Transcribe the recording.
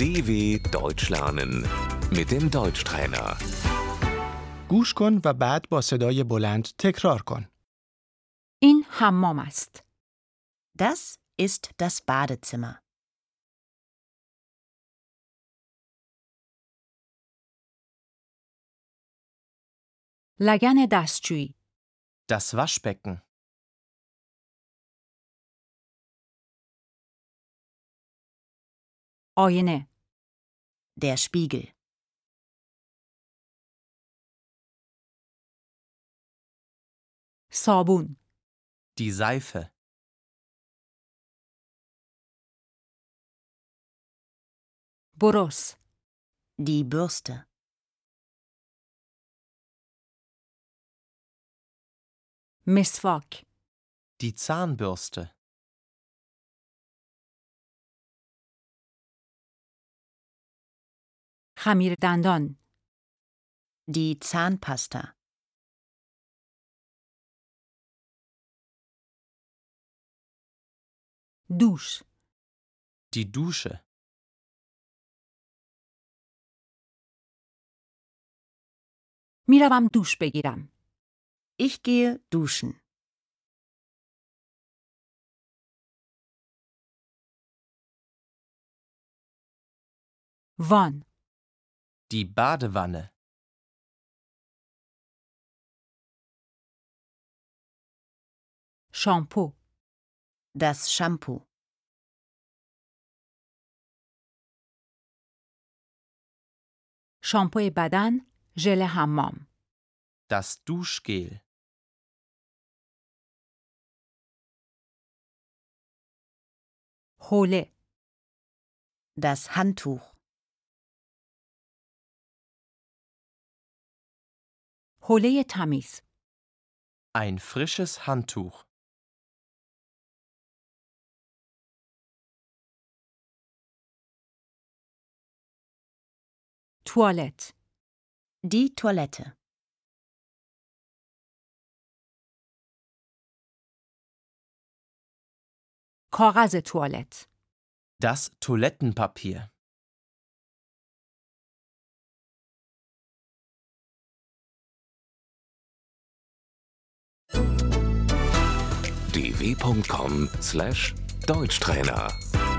DW Deutsch lernen mit dem Deutschtrainer. گوش کن و بعد با صدای بلند تکرار کن. این حمام است. Das ist das Badezimmer. لگن دستشویی. Das Waschbecken. آینه. Der Spiegel. صابون. Die Seife. برس. Die Bürste. مسواک. Die Zahnbürste. خمیر دندان. Die Zahnpasta. دوش. Die Dusche. میروم دوش بگیرم. Ich gehe duschen. وان. Die Badewanne. شامپو. Das Shampoo. شامپوی بدن. ژل حمام. Das Duschgel. حوله. Das Handtuch. حوله تمیز. Ein frisches Handtuch. توالت. Die Toilette. کاغذ توالت. Das Toilettenpapier. dw.com/Deutschtrainer